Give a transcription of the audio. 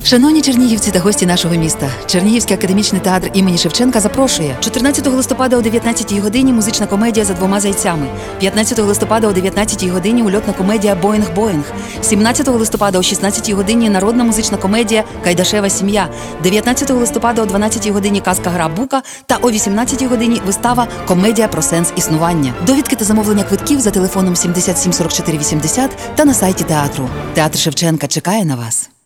Шановні чернігівці та гості нашого міста, Чернігівський академічний театр імені Шевченка запрошує 14 листопада о 19-й годині музична комедія «За двома зайцями», 15 листопада о 19-й годині ульотна комедія «Боїнг-Боїнг», 17 листопада о 16-й годині народна музична комедія «Кайдашева сім'я», 19 листопада о 12-й годині казка-гра «Бука» та о 18-й годині вистава «Комедія про сенс існування». Довідки та замовлення квитків за телефоном 77 44 80 та на сайті театру. Театр Шевченка чекає на вас.